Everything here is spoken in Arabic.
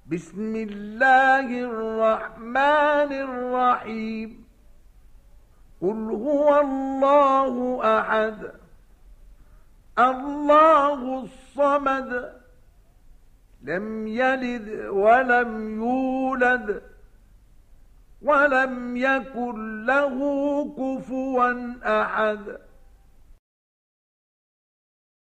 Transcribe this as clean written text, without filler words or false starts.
بسم الله الرحمن الرحيم قل هو الله أحد الله الصمد لم يلد ولم يولد ولم يكن له كفوا أحد